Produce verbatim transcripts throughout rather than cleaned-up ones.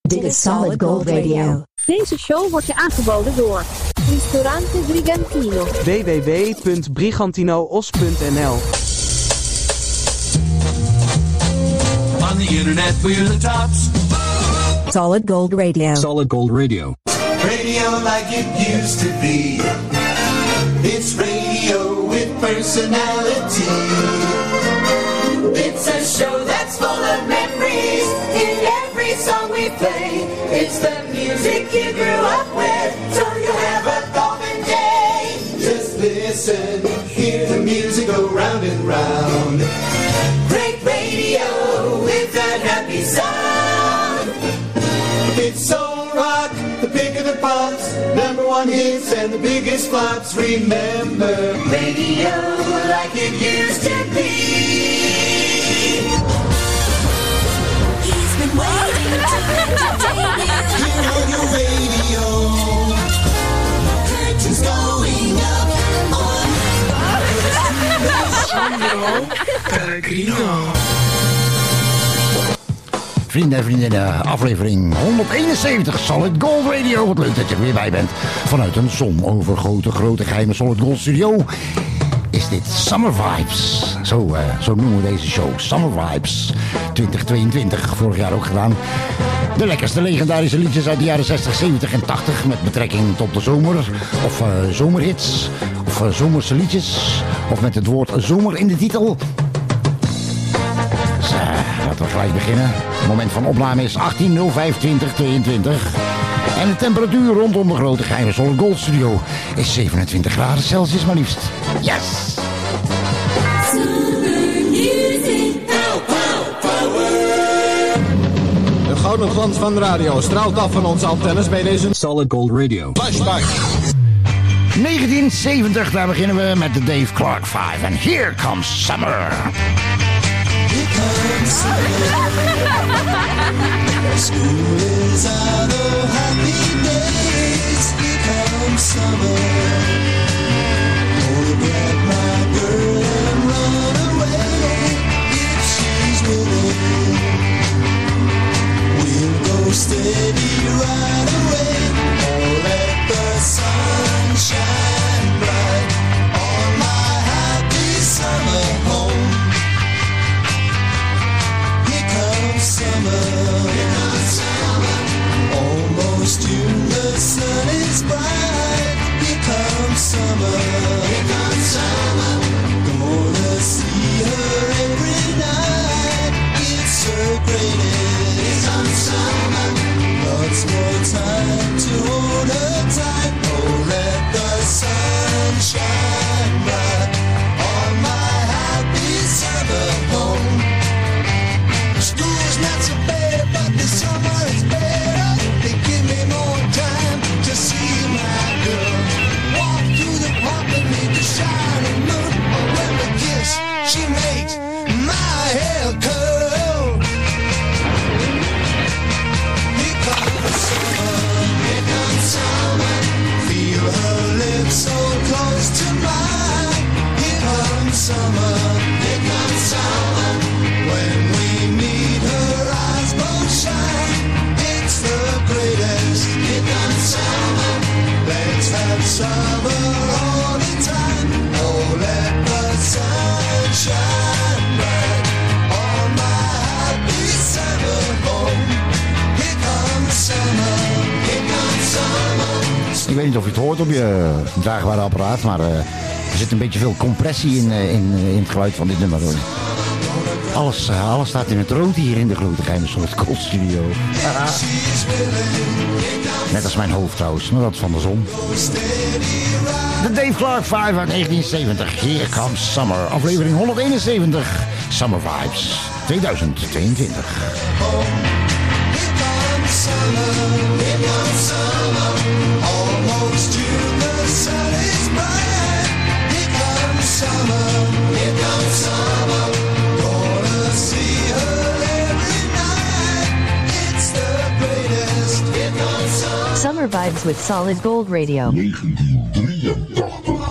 Dit is Solid Gold Radio. Deze show wordt je aangeboden door Ristorante Brigantino. w w w punt brigantinoos punt n l On the internet we're the tops. Solid Gold Radio. Solid Gold Radio. Radio like it used to be. It's radio with personality. It's a show that's full of memories. In every song we play, it's the music you grew up with, so you'll have a golden day. Just listen, hear the music go round and round. Great radio with that happy sound. It's soul rock, the pick of the pops, number one hits and the biggest flops. Remember, radio like it used to be. He's been waiting to entertain you. Here on your radio, curtains going up on Alessandro Pellegrino. Vrienden en vriendinnen, aflevering honderdeenenzeventig Solid Gold Radio. Wat leuk dat je er weer bij bent. Vanuit een zonovergoten grote geheime Solid Gold studio is dit Summer Vibes. Zo, uh, zo noemen we deze show, Summer Vibes twintig tweeëntwintig. Vorig jaar ook gedaan. De lekkerste legendarische liedjes uit de jaren zestig, zeventig en tachtig met betrekking tot de zomer. Of uh, zomerhits. Of uh, zomerse liedjes. Of met het woord zomer in de titel. Dus, uh, laten we gelijk beginnen. Het moment van opname is achttien nul vijf twintig tweeëntwintig. En de temperatuur rondom de grote geheime Solid Gold studio is zevenentwintig graden Celsius maar liefst. Yes! De gouden glans van de radio straalt af van onze antennes bij deze Solid Gold Radio. Flashback. negentien zeventig, daar beginnen we met de Dave Clark vijf. En here comes summer. School is out of happy days. Here comes summer. Gonna get my girl and run away. If she's willing, we'll go steady right away. Or let the sun shine bright on my happy summer home. Summer, here comes summer. Almost June, the sun is bright. Here comes summer, here comes summer. Gonna see her every night. It's her greatest. Here comes summer. Lots more time to hold her tight. Oh, let the sun shine bright on my happy summer home. School's not so bad, but the summer is better. They give me more time to see my girl. Walk through the park beneath the shining moon. When we kiss, she makes my hair curl. Here comes summer, here comes summer. Feel her lips so close to mine. Here comes summer, here comes summer. When we meet, her eyes both shine. It's the greatest. Here comes summer. Let's have summer all the time. Oh, let the sun shine bright on my happy summer home. Here comes summer. Here comes summer. Ik weet niet of je het hoort op je draagbare apparaat, maar uh, er zit een beetje veel compressie in, uh, in, uh, in het geluid van dit nummer. Alles, uh, alles staat in het rood hier in de grote geheime Solid Gold studio. Ah. Net als mijn hoofd trouwens, maar dat is van de zon. De Dave Clark vijf uit negentien zeventig. Here comes summer. Aflevering honderdeenenzeventig. Summer Vibes tweeduizend tweeëntwintig. Almost June, the sun is bright. Here comes summer, here comes summer. Gonna see her every night. It's the greatest. Here comes summer. Summer Vibes with Solid Gold Radio. negentien drieëntachtig.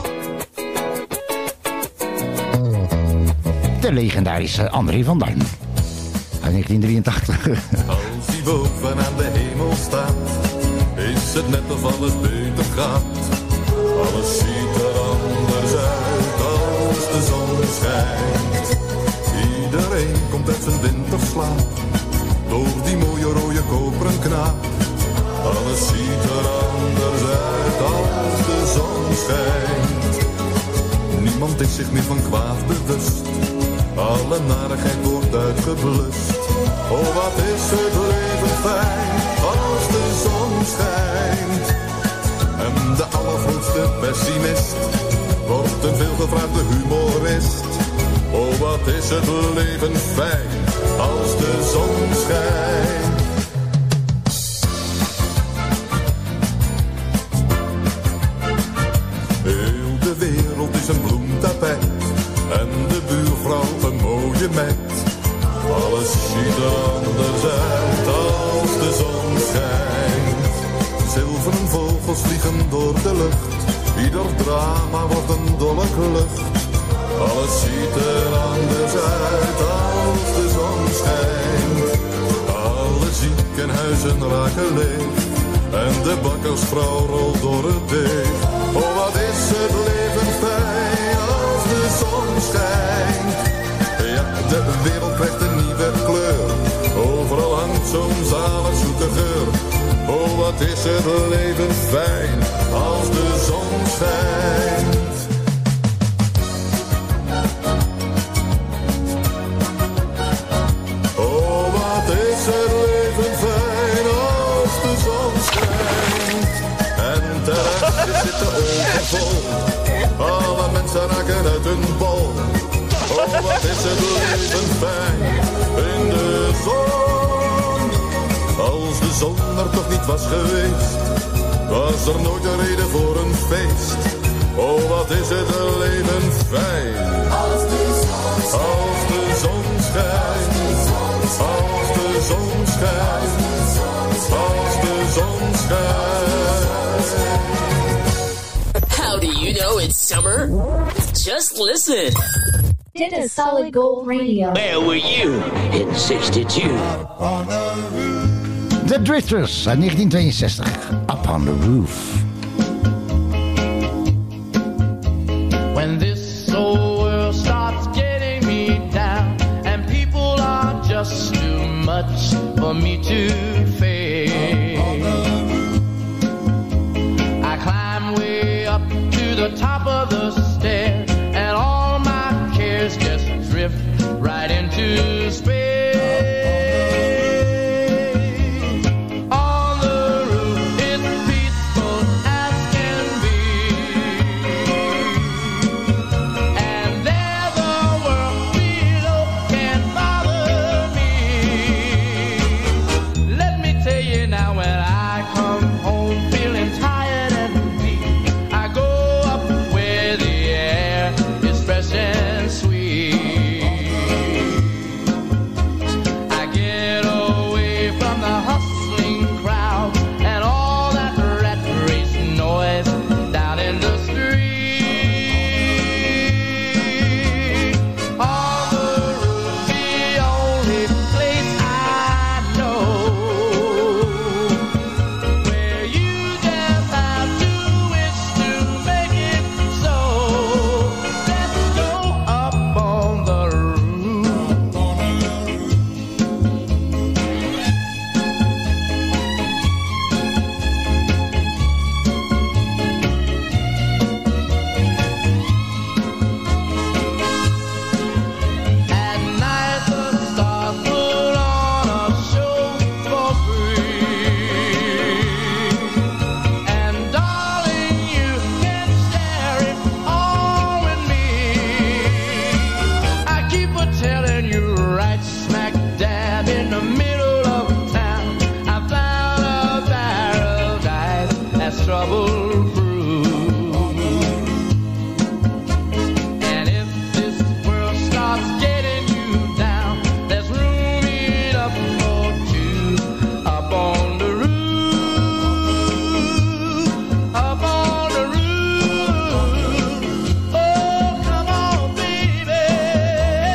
De legendarische André van Duin. Uit negentien drieëntachtig. Als hij boven aan de hemel staat, is het net of alles beter gaat. Alles ziet er anders uit als de zon schijnt. Iedereen komt uit zijn winterslaap, door die mooie rode koperen knaap. Alles ziet er anders uit als de zon schijnt. Niemand is zich meer van kwaad bewust, alle narigheid wordt uitgeblust. Oh, wat is het leven fijn als de zon schijnt. En de allergrootste pessimist wordt een veelgevraagde humorist. Oh, wat is het leven fijn als de zon schijnt. Heel de wereld is een bloemtapijt en de buurvrouw een mooie meid. Alles ziet er anders uit als de zon schijnt. Zilveren vogels vliegen door de lucht, ieder drama wordt een dolle klucht. Alles ziet er anders uit als de zon schijnt. Alle ziekenhuizen raken leeg en de bakkersvrouw rolt door het deeg. Oh, wat is het leven fijn als de zon schijnt. Ja, de wereld krijgt een nieuwe kleur, overal hangt zo'n zalig zoete geur. Oh, wat is het leven fijn als de zon schijnt. Oh, wat is het leven fijn als de zon schijnt. En terrasjes zitten overvol, alle mensen raken uit hun bol. Oh, wat is het leven fijn in de zon. Als de zon er toch niet was geweest, was er nooit een reden voor een feest. Oh, wat is het leven fijn als de zon schijnt. Als de zon schijnt. Als de zon schijnt. Als de zon schijnt. How do you know it's summer? Just listen. Dit is Solid Gold Radio. Where were you in sixty-two? The Drifters uit negentien tweeënzestig. Up on the Roof. When this whole world starts getting me down and people are just too much for me to face, I climb way up to the top of the stairs and all my cares just drift right into space.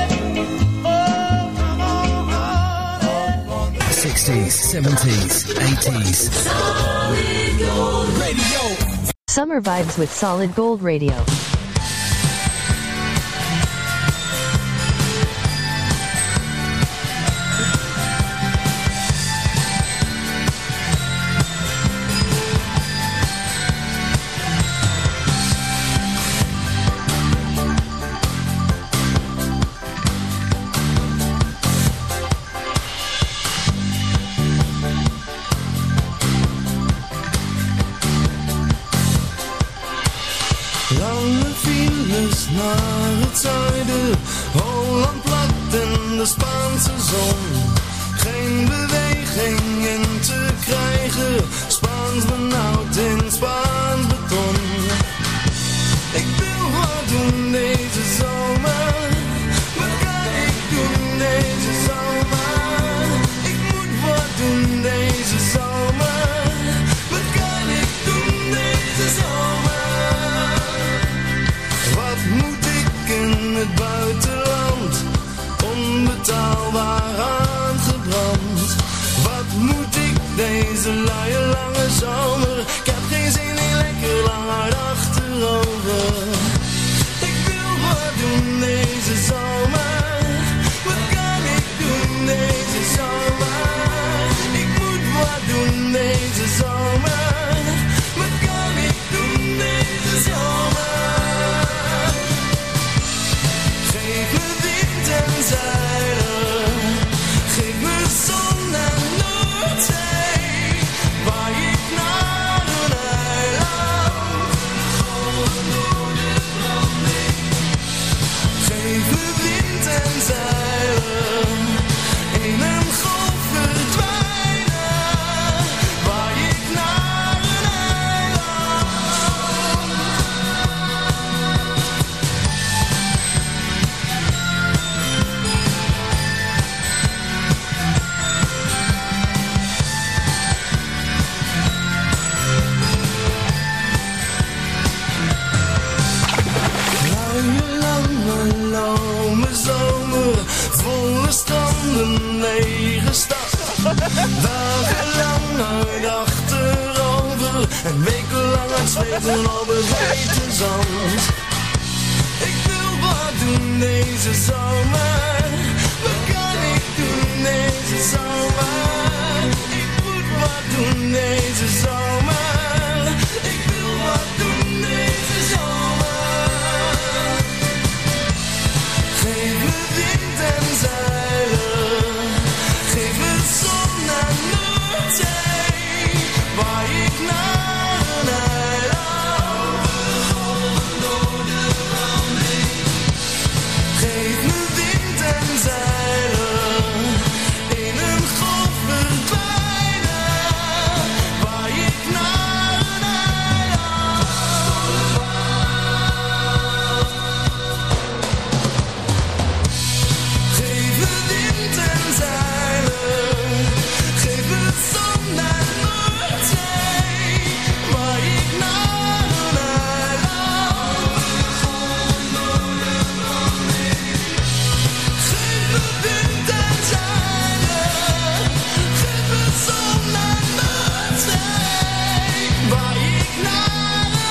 seventies, nineties. Solid Gold Radio. Summer vibes with Solid Gold Radio. Lange files naar het zuiden, Holland plat in de Spaanse zon. Geen beweging in te krijgen, Spaans benauwd in Spaans beton. Ik wil wat doen deze zomer, wat kan ik doen deze zomer? Ik moet wat doen deze zomer, wat kan ik doen deze zomer? Wat moet ik in het buitenland, onbetaalbaar aangebrand? Wat moet ik deze luie lange zomer? Ik heb geen zin in lekker lang hard achterover. Ik wil wat doen deze zomer, wat kan ik doen deze zomer? Ik moet wat doen deze zomer, wat kan ik doen deze zomer? Geef me wind en zeilen, geef me zon en Noordzee, waar ik naar een eiland, golven door de branding. Geef me wind en zeilen, in een golf verdwijnen, waar ik naar een eiland. Luie, lange, lome zomer, volle stranden, lege stad. Dagenlang uit achterover en wekenlang uit zweten op het hete zand. Ik wil wat doen deze zomer, wat kan ik doen deze zomer? Ik moet wat doen deze zomer, ik wil wat doen deze zomer. Geef me wind en zeilen, geef me zon en Noordzee, waar ik naar een eiland, golven door de branding. Geef me wind en zeilen, in een golf verdwijnen, waar ik naar een eiland. Geef me wind en zeilen, geef me zon en Noordzee, waar ik naar een eiland, golven door de branding. Geef me wind en zeilen, geef me zon en Noordzee, waar ik naar een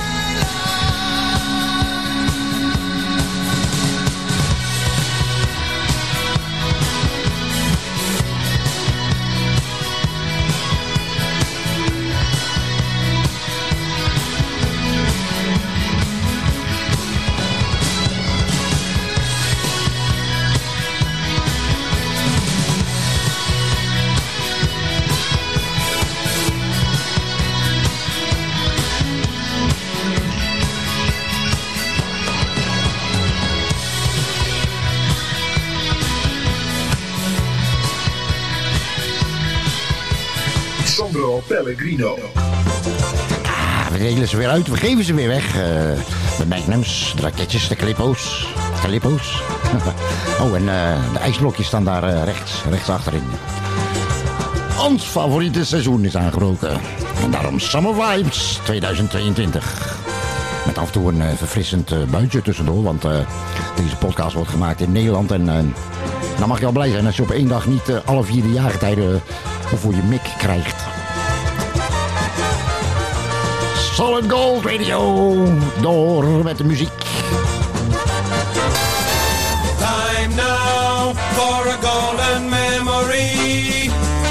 Sandro Pellegrino. Ah, we delen ze weer uit, we geven ze weer weg. Uh, de magnums, de raketjes, de clippo's. Clippo's. Oh, en uh, de ijsblokjes staan daar uh, rechts, rechts achterin. Ons favoriete seizoen is aangebroken. En daarom Summer Vibes tweeduizend tweeëntwintig. Met af en toe een uh, verfrissend uh, buitje tussendoor. Want uh, deze podcast wordt gemaakt in Nederland. En uh, dan mag je al blij zijn als je op één dag niet uh, alle vierde jaargetijden uh, voor je mik krijgt. Solid Gold Radio. Door met de muziek. Time now for a golden memory.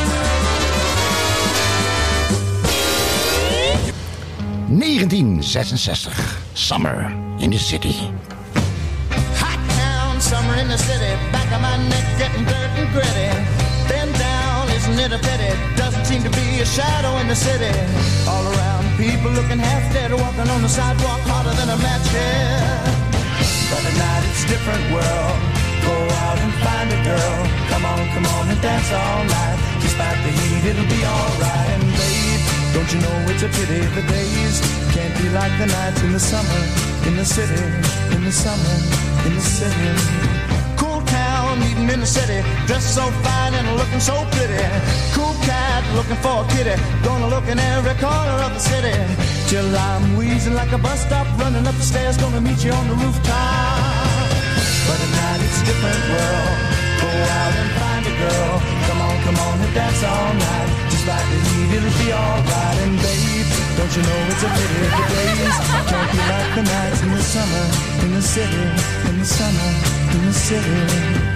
negentien zesenzestig. Summer in the City. Hot town, summer in the city. Back of my neck getting dirt and gritty. Been down, isn't it a pity? Doesn't seem to be a shadow in the city. All around, people looking half dead, walking on the sidewalk harder than a match head. But at night it's a different world. Go out and find a girl. Come on, come on and dance all night. Despite the heat, it'll be alright. And babe, don't you know it's a pity the days can't be like the nights in the summer, in the city, in the summer, in the city. Cool town, meeting in the city, dressed so fine and looking so pretty. Cool cat, looking for a kitty, gonna look in every corner of the city. Till I'm wheezing like a bus stop, running up the stairs, gonna meet you on the rooftop. But at night it's a different world. Go out and find a girl. Come on, come on and dance all night. Just like the heat, it'll be alright. And babe, don't you know it's a pity the days can't be like the nights in the summer, in the city, in the summer, in the city.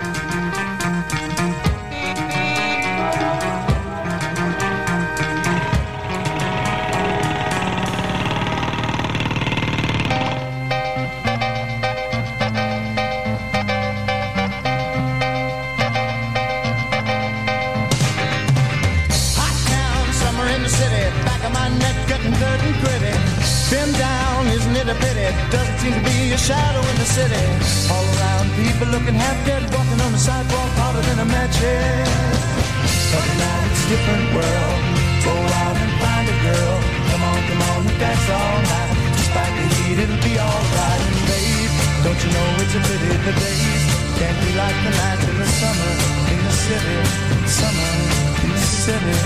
Doesn't seem to be a shadow in the city. All around, people looking half dead, walking on the sidewalk harder than a match head. But now it's a different world. Go out and find a girl. Come on, come on, and dance all night. Despite the heat, it'll be alright. And babe, don't you know it's a pity the days can't be like the nights in the summer, in the city, summer, in the city.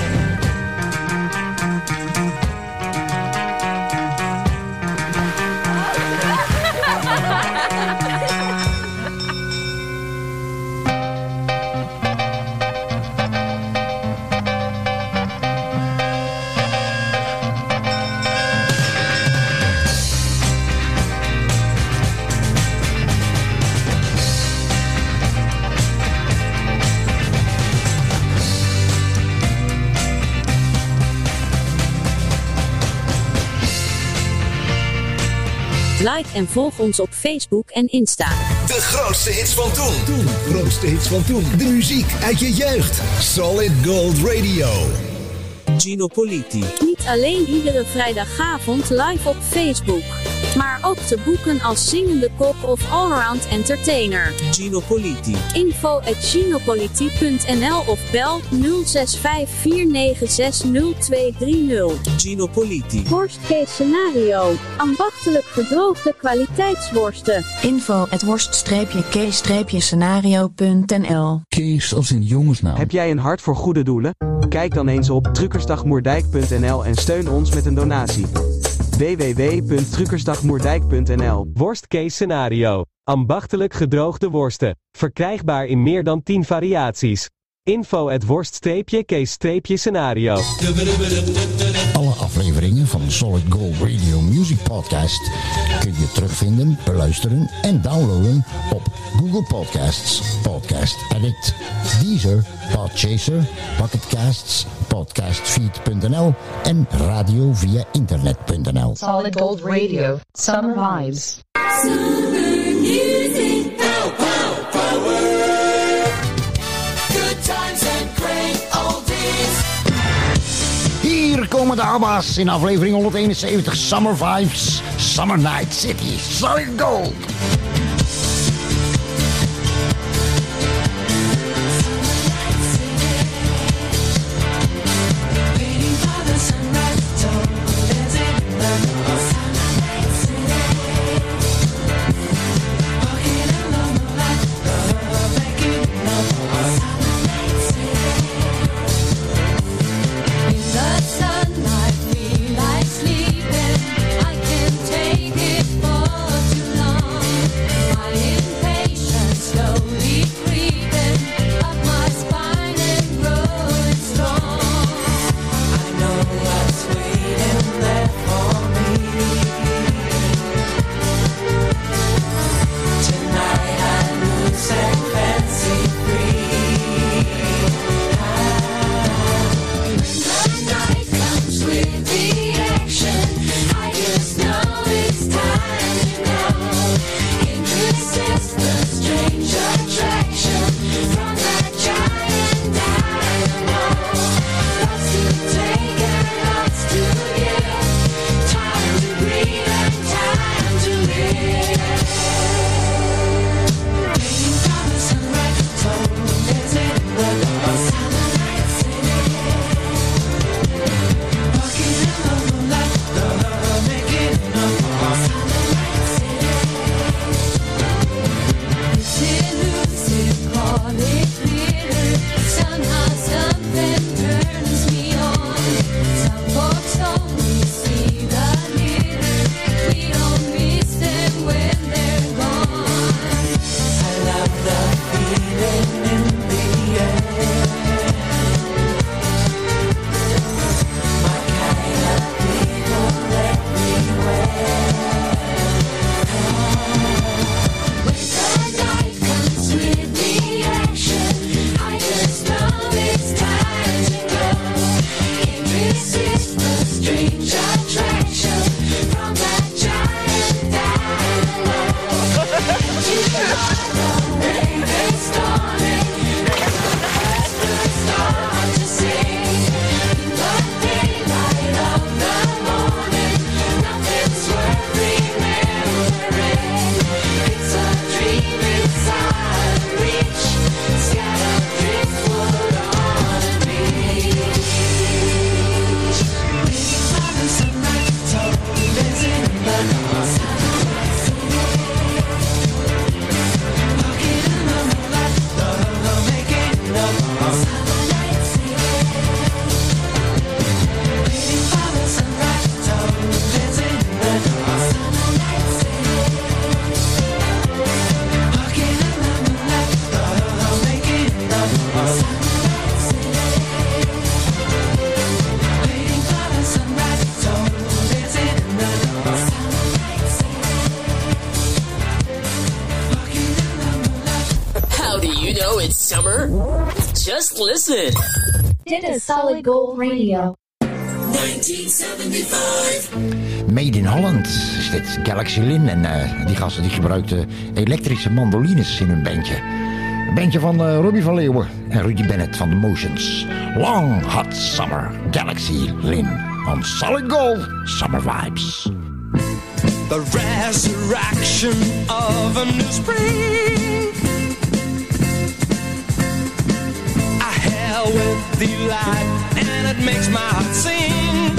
Like en volg ons op Facebook en Insta. De grootste hits van toen. Toen, grootste hits van toen. De muziek uit je jeugd. Solid Gold Radio. Gino Politi. Niet alleen iedere vrijdagavond live op Facebook, maar ook te boeken als zingende kok of allround entertainer. Gino Politi. info at ginopoliti punt n l of bel nul zes vijf vier negen zes nul twee drie nul. Gino Politi. Worst case scenario. Ambachtelijk gedroogde kwaliteitsworsten. info at worst-case-scenario punt n l. Kees als in jongensnaam. Heb jij een hart voor goede doelen? Kijk dan eens op truckersdagmoerdijk punt n l en steun ons met een donatie. w w w punt truckersdagmoerdijk punt n l. Worst case scenario. Ambachtelijk gedroogde worsten. Verkrijgbaar in meer dan tien variaties. info at worst-case-scenario. Alle afleveringen van Solid Gold Radio Music Podcast kun je terugvinden, beluisteren en downloaden op Google Podcasts, Podcast Addict, Deezer, Podchaser, Pocketcasts, podcastfeed punt n l en radio via internet punt n l. Solid Gold Radio, Summer Vibes. Summer music, pow, pow, power. Good times and great oldies. Hier komen de ABBA's in aflevering honderdeenenzeventig Summer Vibes, Summer Night City, Solid Gold. Sleeping, I can't take it for too long. It's summer. Just listen. Dit is Solid Gold Radio. negentien zevenenzeventig. Made in Holland is dit Galaxy Lin. En uh, die gasten die gebruikten elektrische mandolines in hun bandje. Een bandje van uh, Robbie van Leeuwen en Rudy Bennett van The Motions. Long Hot Summer, Galaxy Lin. On Solid Gold, Summer Vibes. The resurrection of a new spring. I hail with the light and it makes my heart sing.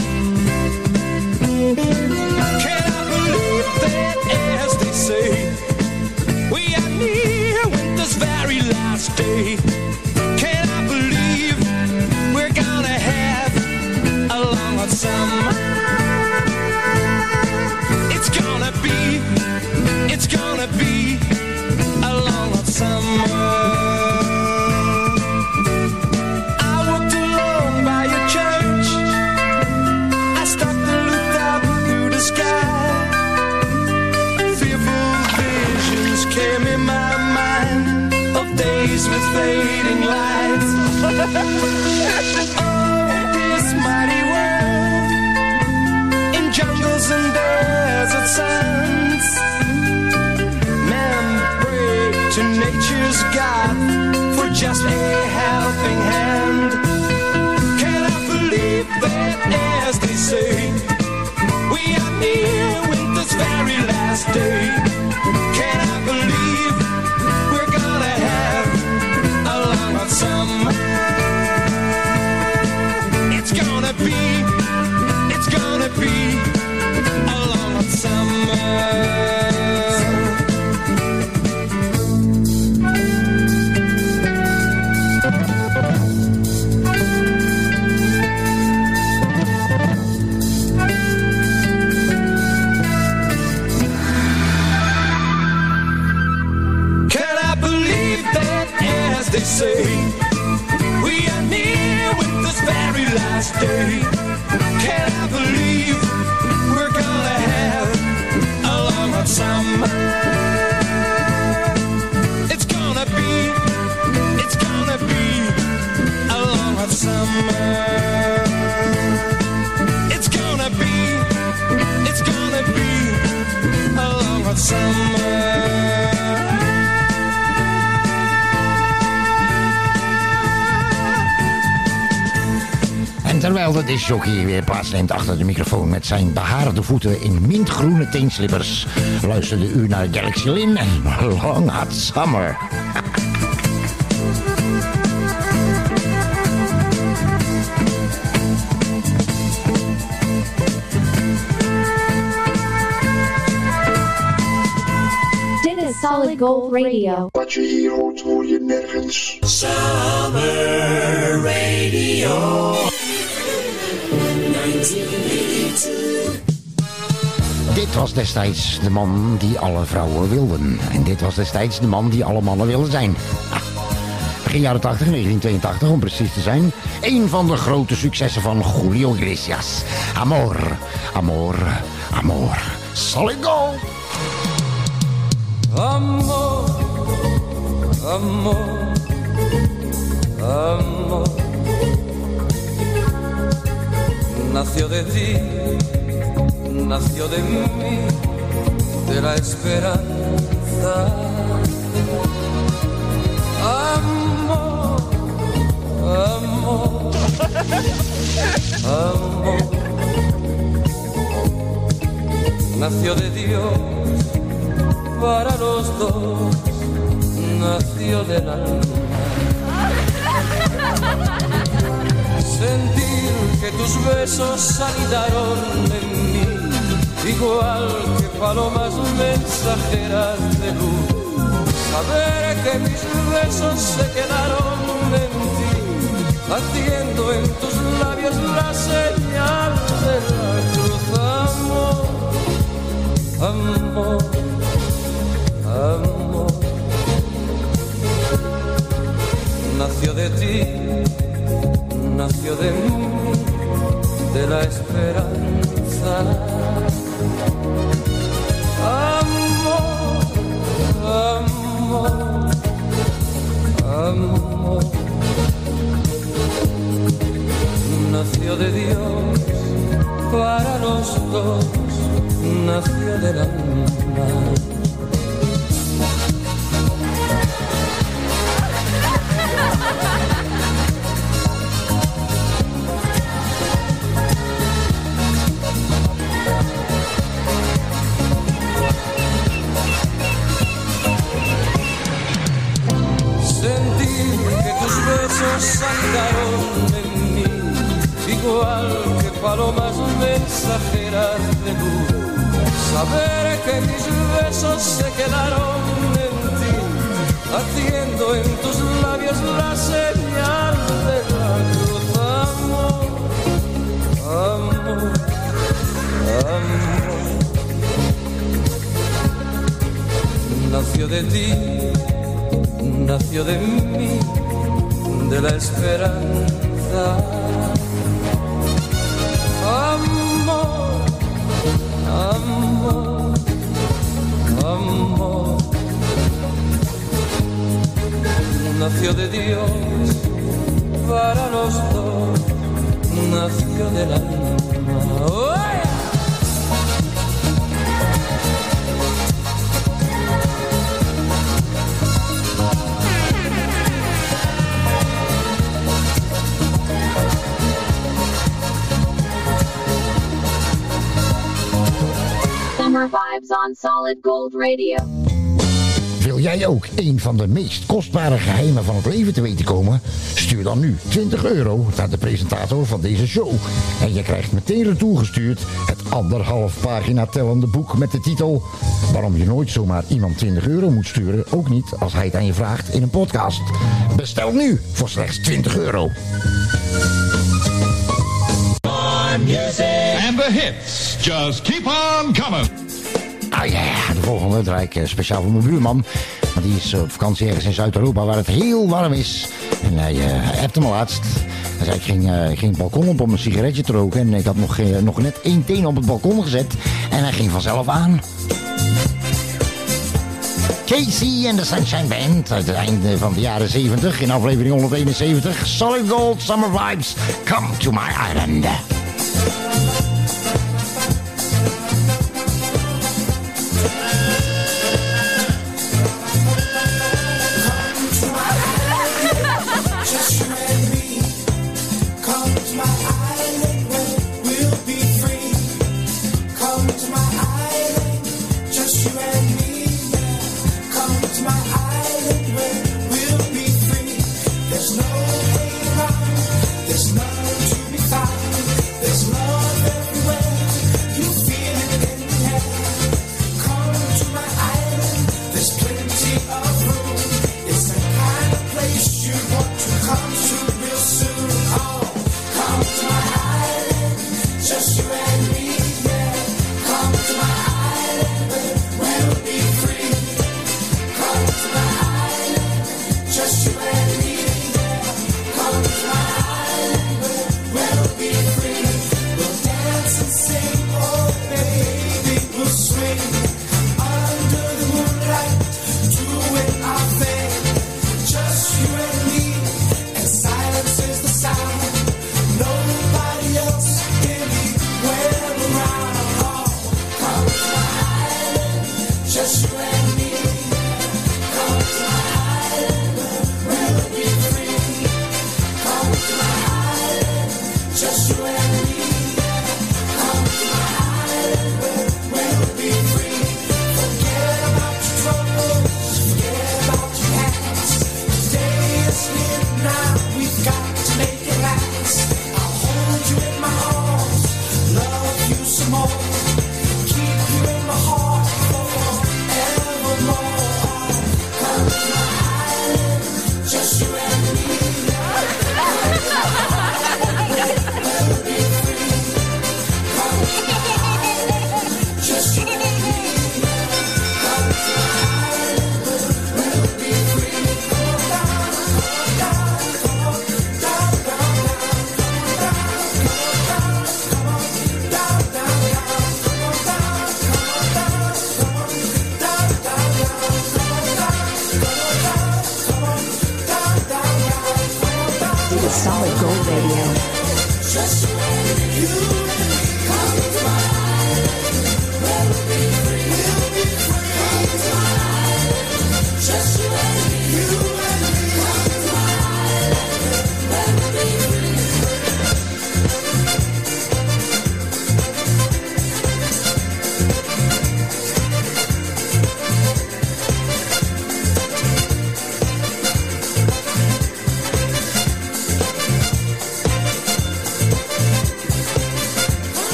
Can I believe that, as they say, we are near winter's very last day? Can I believe we're gonna have a long hot summer? It's gonna be, it's gonna be a long hot summer. I walked along by your church. I stopped and looked up through the sky. Fearful visions came in my mind of days with fading lights. Oh, this mighty world in jungles and desert sands. Men pray to nature's God for just a helping hand. Can I believe that, as they say, we are near winter's very last day? Can I believe we're gonna have a long hot summer? It's gonna be, it's gonna be a long hot summer. Can I believe that, as they say, we are near winter's very last day? Can I believe we're gonna have a long hot summer? It's gonna be, it's gonna be a long hot summer. It's gonna be, it's gonna be a long hot summer. En terwijl de discjockey weer plaatsneemt achter de microfoon met zijn behaarde voeten in mintgroene teenslippers, luisterde u naar Galaxy Lin en Long Hot Summer. Dit is Solid Gold Radio. Wat je hier hoort, hoor je nergens. Summer Radio. negentien negenennegentig. Dit was destijds de man die alle vrouwen wilden. En dit was destijds de man die alle mannen wilden zijn. Ah, begin jaren tachtig, negentien tweeëntachtig om precies te zijn. Een van de grote successen van Julio Iglesias. Amor, amor, amor. Solid Gold. Amor, amor, amor. Nació de ti, nació de mí, de la esperanza. Amor, amor, amor. Nació de Dios para los dos, nació del alma. Sentir que tus besos anidaron en mí, igual que palomas mensajeras de luz. Saber que mis besos se quedaron en ti, haciendo en tus labios la señal de la cruz. Amor, amor, amor. Nació de ti, nació de mí, de la esperanza. Amor, amor, amor. amor nació de Dios para los dos, nació del alma. Saltaron en mí, igual que palomas mensajeras de luz. Saber que mis besos se quedaron en ti, haciendo en tus labios la señal de la cruz. Amor, amor, amor. Nació de ti, nació de mí, de la esperanza. Amor, amor, amor. Nació de Dios para los dos, nació del alma. ¡Oh! Summer Vibes on Solid Gold Radio. Wil jij ook een van de meest kostbare geheimen van het leven te weten komen? Stuur dan nu twintig euro naar de presentator van deze show. En je krijgt meteen retour gestuurd het anderhalf pagina tellende boek met de titel Waarom je nooit zomaar iemand twintig euro moet sturen, ook niet als hij het aan je vraagt in een podcast. Bestel nu voor slechts twintig euro. And the hits just keep on coming. Ah ja, yeah, de volgende draai ik speciaal voor mijn buurman. Want die is op vakantie ergens in Zuid-Europa waar het heel warm is. En hij, uh, hij appte me laatst. Hij zei, ik ging, uh, ik ging het balkon op om een sigaretje te roken. En ik had nog, uh, nog net één teen op het balkon gezet. En hij ging vanzelf aan. Casey en de Sunshine Band uit het einde van de jaren zeventig. In aflevering honderdeenenzeventig. Solid Gold Summer Vibes. Come to my island. Nobody else can be where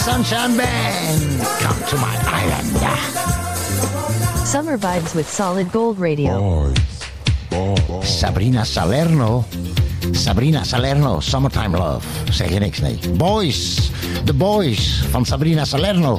Sunshine Band. Come to my island. Summer vibes with Solid Gold Radio. Sabrina Salerno. Sabrina Salerno, Summertime Love. Zeg je niks, nee. Boys. The Boys van Sabrina Salerno.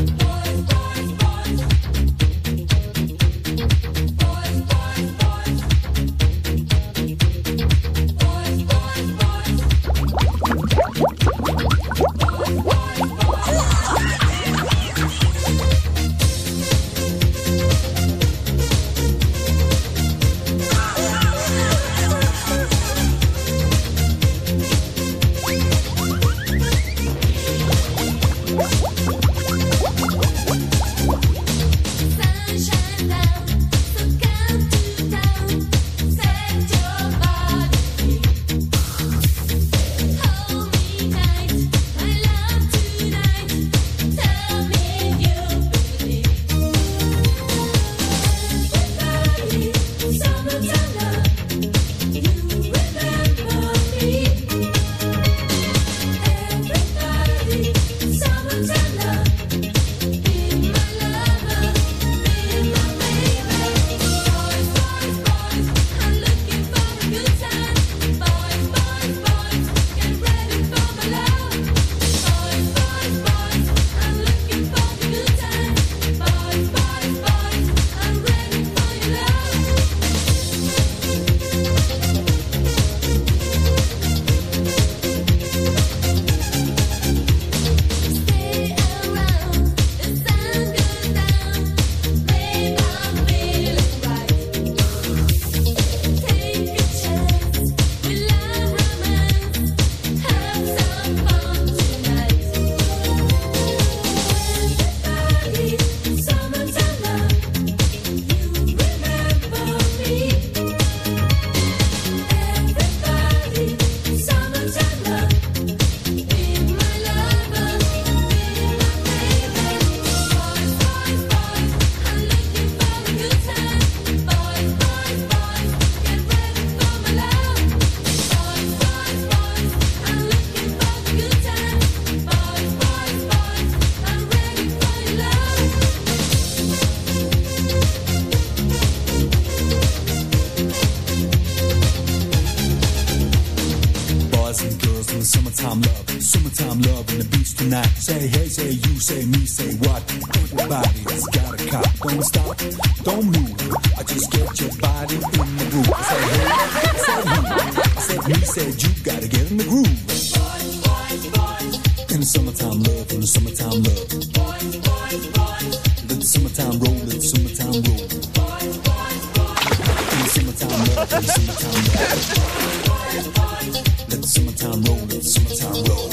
Say hey, say you, say me, say what? Everybody's got a cop. Don't stop, don't move. I just get your body in the groove. I say hey, I said you, I said me, said you. Gotta get in the groove. Boys, boys, boys. In the summertime love, in the summertime love. Boys, boys, boys. Let the summertime roll, let the summertime roll. Boys, boys, boys. In the summertime love, in the summertime love. Boys, boys. Let the summertime roll, let the summertime roll.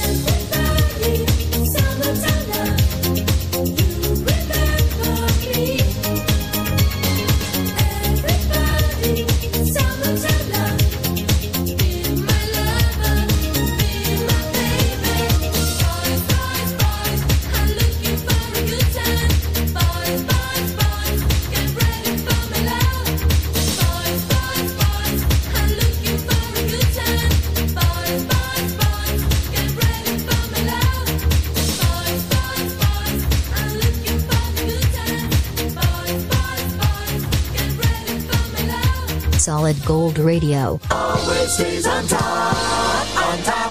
Solid Gold Radio. Always stays on top, on top.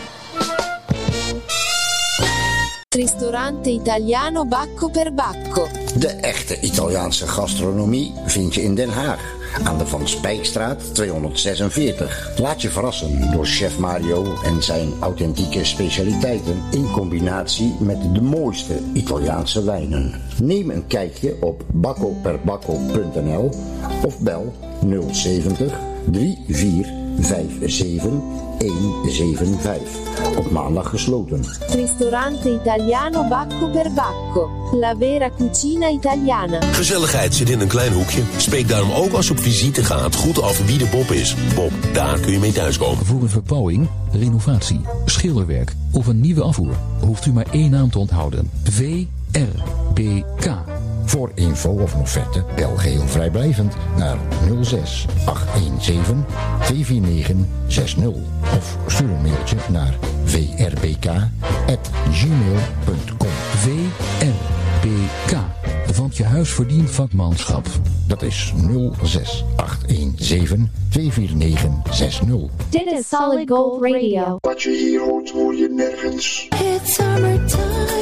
Ristorante italiano Bacco per Bacco. De echte Italiaanse gastronomie vind je in Den Haag. Aan de Van Spijkstraat tweehonderdzesenveertig. Laat je verrassen door chef Mario en zijn authentieke specialiteiten in combinatie met de mooiste Italiaanse wijnen. Neem een kijkje op bacco per bacco punt n l of bel nul zeventig drie vier vijf zeven een zeven vijf. Op maandag gesloten. Ristorante italiano Bacco per Bacco. La vera cucina italiana. Gezelligheid zit in een klein hoekje. Spreek daarom ook als je op visite gaat goed af wie de Bob is. Bob, daar kun je mee thuiskomen. Voor een verbouwing, renovatie, schilderwerk of een nieuwe afvoer hoeft u maar één naam te onthouden. V R B K. Voor info of een offerte bel geheel vrijblijvend naar nul zes acht een zeven twee vier negen zes nul of stuur een mailtje naar v r b k at gmail punt com. V R B K, want je huis verdient vakmanschap. Dat is nul zes acht een zeven twee vier negen zes nul. Dit is Solid Gold Radio. Wat je hier hoort, hoor je nergens. It's summertime.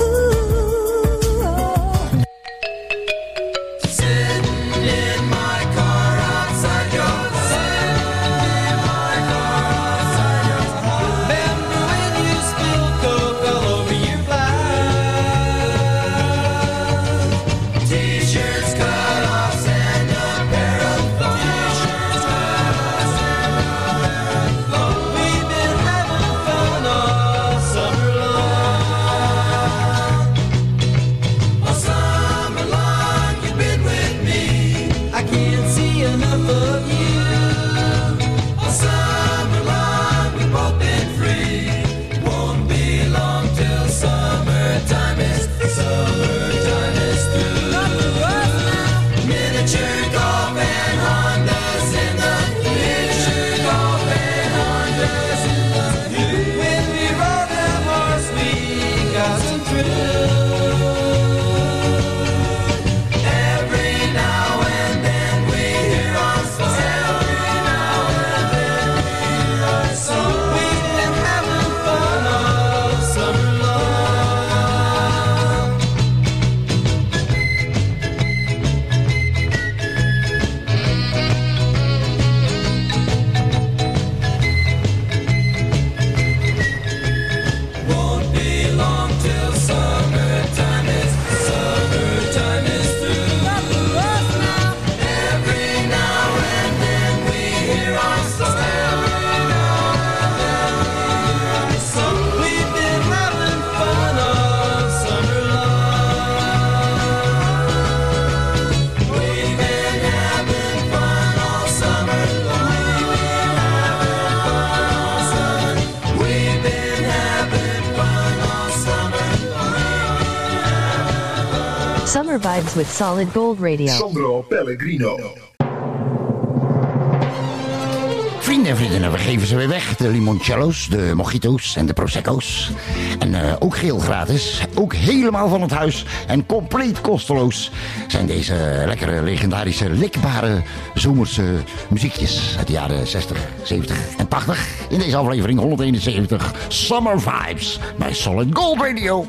Summer vibes with Solid Gold Radio. Sandro Pellegrino. Vrienden en vriendinnen, we geven ze weer weg. De limoncello's, de mojito's en de prosecco's. En uh, ook geheel gratis. Ook helemaal van het huis. En compleet kosteloos zijn deze lekkere, legendarische, likbare zomerse muziekjes uit de jaren zestig, zeventig en tachtig. In deze aflevering honderdeenenzeventig Summer Vibes bij Solid Gold Radio.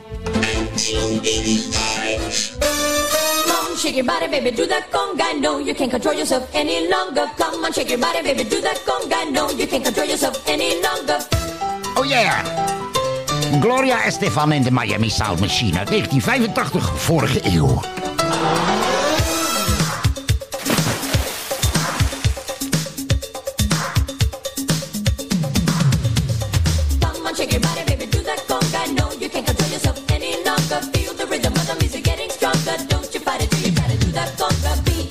Shake your body, baby, do that conga. No, you can't control yourself any longer. Come on, shake your body, baby, do that conga. No, you can't control yourself any longer. Oh yeah! Gloria Estefan en de Miami Sound Machine uit negentien vijfentachtig, vorige eeuw. Come on, shake your body, baby, do that conga. No, you can't control yourself any longer. Feel the rhythm of the music getting stronger. Don't you fight it, do you gotta do that conga beat.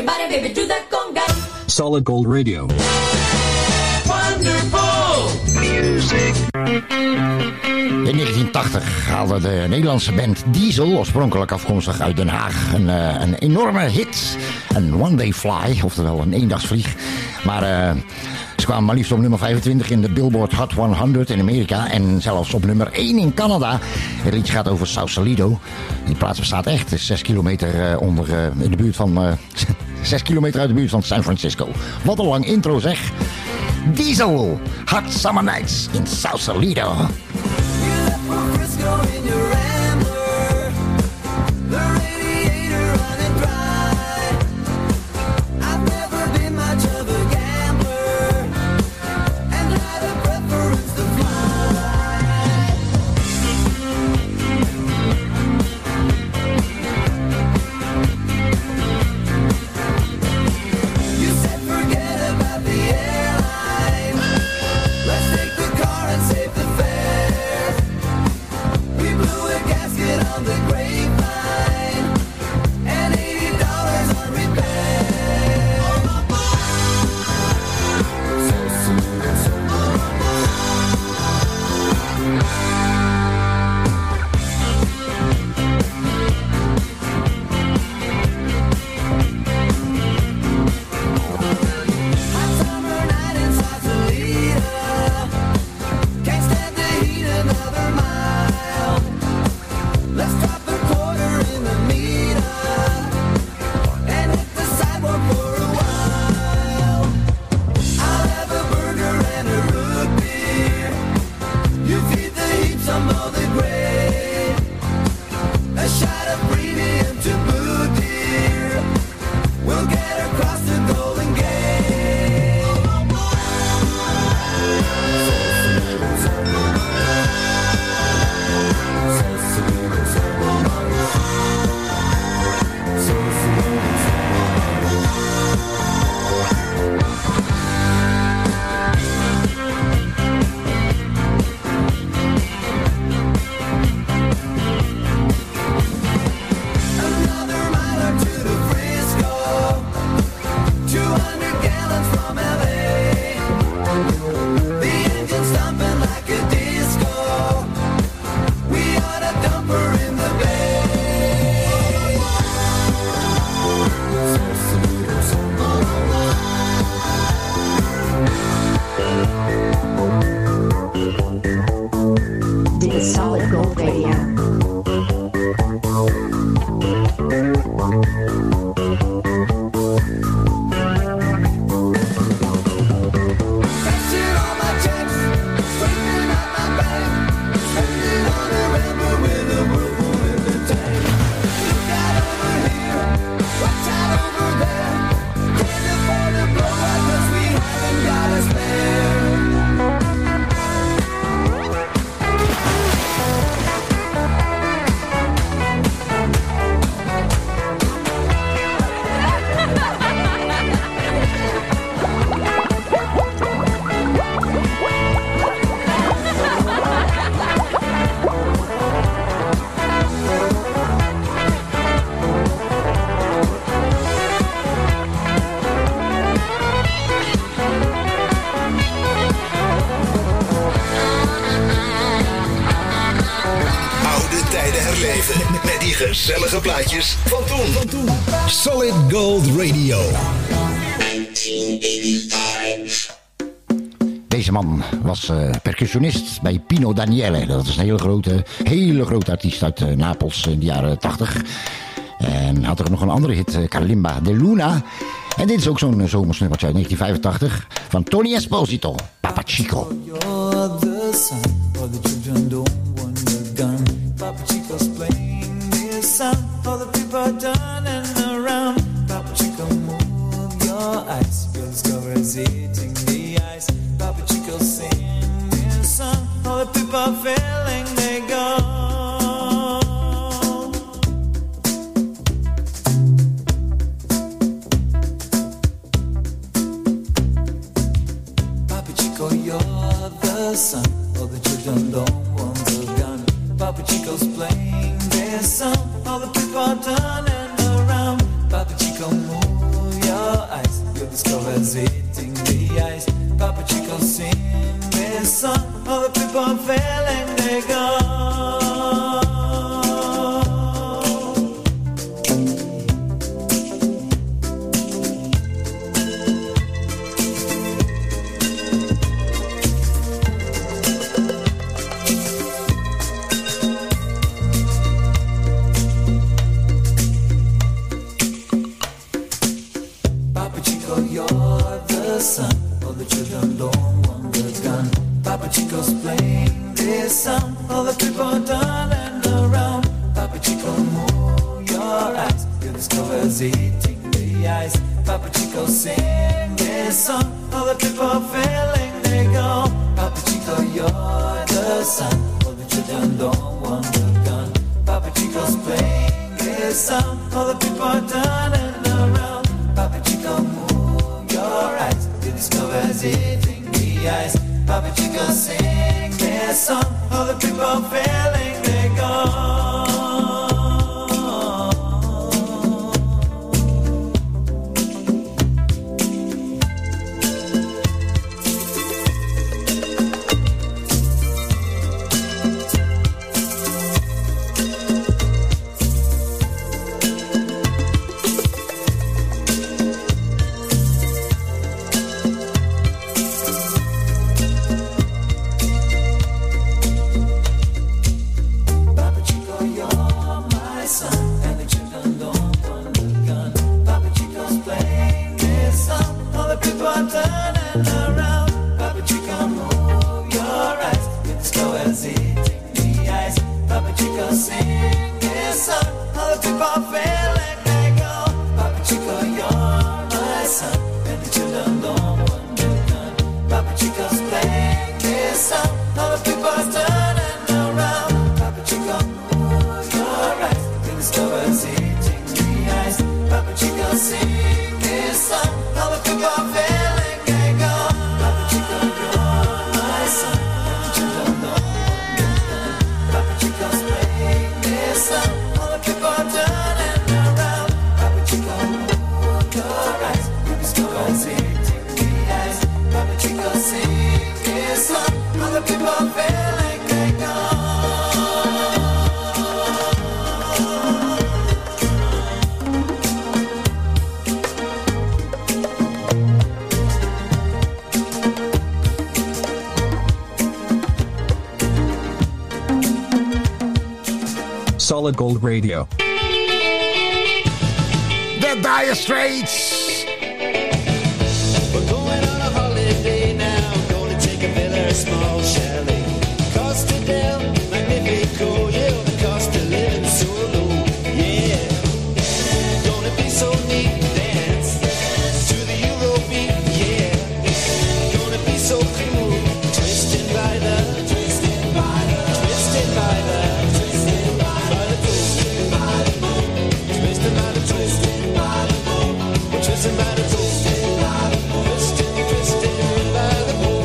body, baby, do that conga. Solid Gold Radio. Wonderful music. In negentien tachtig haalde de Nederlandse band Diesel, oorspronkelijk afkomstig uit Den Haag, een, uh, een enorme hit. Een One Day Fly, oftewel een eendagsvlieg. Maar uh, ze kwamen maar liefst op nummer vijfentwintig in de Billboard Hot honderd in Amerika. En zelfs op nummer één in Canada. Het liedje gaat over Sausalito. Die plaats bestaat echt. Het is zes kilometer uh, onder, uh, in de buurt van... Uh, zes kilometer uit de buurt van San Francisco. Wat een lang intro zeg. Diesel, Hot Summer Nights in Sausalito. Gezellige plaatjes van toen. Van toen. Solid Gold Radio. Deze man was uh, percussionist bij Pino Daniele. Dat is een hele grote, hele grote artiest uit uh, Napels in de jaren tachtig. En had er nog een andere hit, uh, Kalimba de Luna. En dit is ook zo'n uh, zomersnummertje uit negentien vijfentachtig van Tony Esposito, Papa Chico. You're the sun, or the children don't want the gun. Papa Chico's playing this song, all the people are turning around. Papa Chico, move your eyes, feel the discovery's eating the ice. Papa Chico, sing this song, all the people are feeling they go. You're the sun, all the children don't want the gun. Papa Chico's playing their song, all the people are turning around. Papa Chico, move Chico sing this song. All the people are feeling they go. Papa Chico, you're the son. All the children don't want the gun. Papa Chico's playing this song. All the people are turning around. Papa Chico, move your eyes. Your discover's eating the ice. Papa Chico, sing this song. All the people are feeling they go. Papa Chico, you're the son. All the children don't want the gun. Papa Chico's playing this song. All the people are turning around. Papa Chico, move your eyes. Your discover's eating the ice. Papa Chico, sing this song. All the people are feeling they go. Papa Chico, you're my son, and the children don't want the gun. Papa Chico's playing this song. All the people are turning around. Papa Chico, move your eyes. Your discover's eating the ice. Papa Chico, sing this song. All the people are feeling they go. Papa Chico, you're my son, and the children don't want the gun. Papa Chico's playing this song. All the people are turning around. Papa Chico, move your eyes. Your discover's eating the ice. Papa Chico, sing this song. All the people are feeling they go. Papa Chico, you're my son, and the children don't want the gun. Papa Chico's playing this song. All the people are turning around. Papa Chico, move your eyes. Your discover's eating the ice. Papa Chico, sing this song. All the people are feeling they go. Solid Gold Radio. The Dire Straits. We're going on a holiday now. Gonna take a villa, a small chalet. Costa del Magnifico, yeah, the cost of living so low, yeah. Gonna be so neat, dance to the Eurobeat, yeah. Gonna be so cool, twisted by the, twisted by the, twisted by the, twisted by the, twisted by the moon, twisted by the, twisted by the moon, we're twisted by the, twisted by the moon, twisted, twisted by the moon.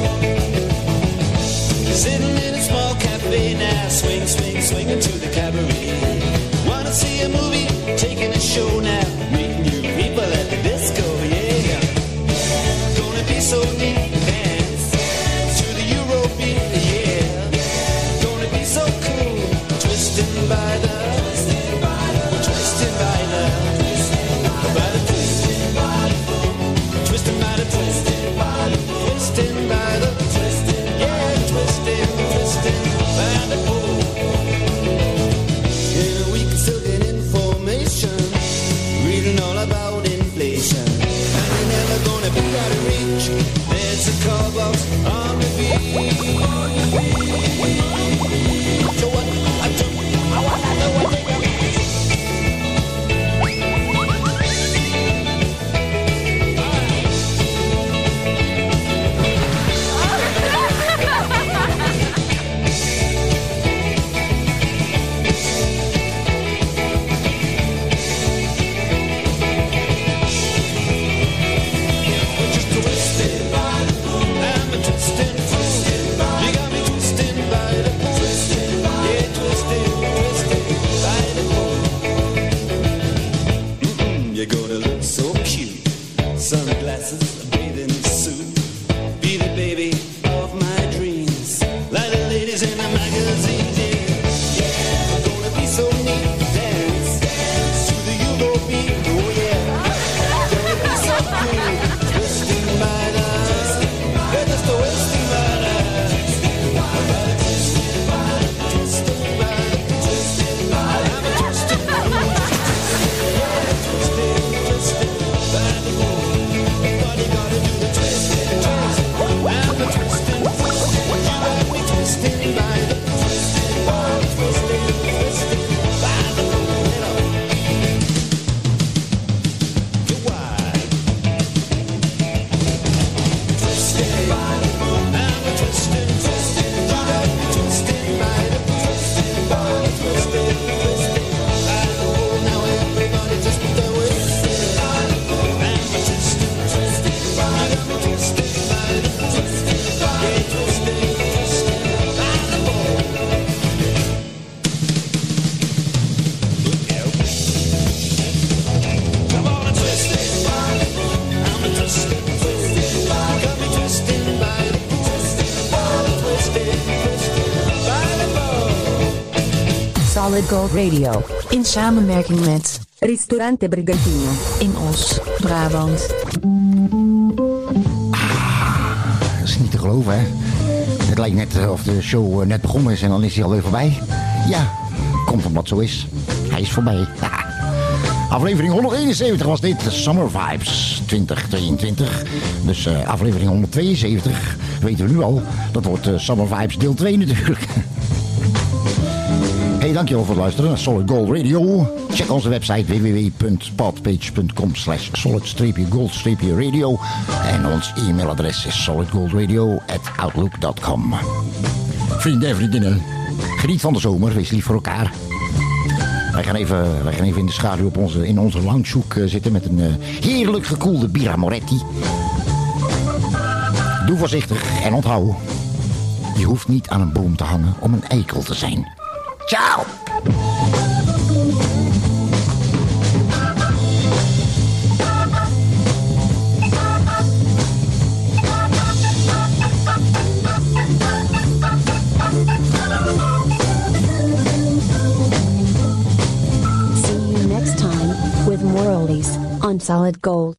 Sitting in a small cafe now, swing, swing, swinging to the cabaret. Wanna see a movie, taking a show now, meeting new people at the disco, yeah. Gonna be so neat, dance to the Eurobeat, yeah. Gonna be so cool, twisting by the, twisting by the, twisting by the, by the twisting by the, twisting by the, twisting by the, twisting by the, twisting, yeah, twisting, twisting by the pole. In a week, still get information, reading all about inflation, and you're never gonna be out of reach. There's a call box on the beach. So what I do, I wanna know what they got. Just twisted by the moon, I'm a twisted fool. You got me twisting Solid Gold Radio. In samenwerking met Ristorante Brigantino in Os, Brabant. Dat is niet te geloven, hè? Het lijkt net of de show net begonnen is en dan is hij alweer voorbij. Ja, komt omdat zo is. Hij is voorbij. Aflevering honderdeenenzeventig was dit, Summer Vibes twintig tweeëntwintig. Dus uh, aflevering honderdtweeënzeventig, weten we nu al. Dat wordt uh, Summer Vibes deel twee natuurlijk. Hey, dankjewel voor het luisteren naar Solid Gold Radio. Check onze website w w w punt podpage punt com slash solid-gold-radio. En ons e-mailadres is solidgoldradio at outlook dot com. Vrienden en vriendinnen, geniet van de zomer, wees lief voor elkaar. Wij gaan even, wij gaan even in de schaduw op onze, in onze loungehoek uh, zitten met een uh, heerlijk gekoelde Birra Moretti. Doe voorzichtig en onthoud, je hoeft niet aan een boom te hangen om een eikel te zijn. Ciao! See you next time with more oldies on Solid Gold.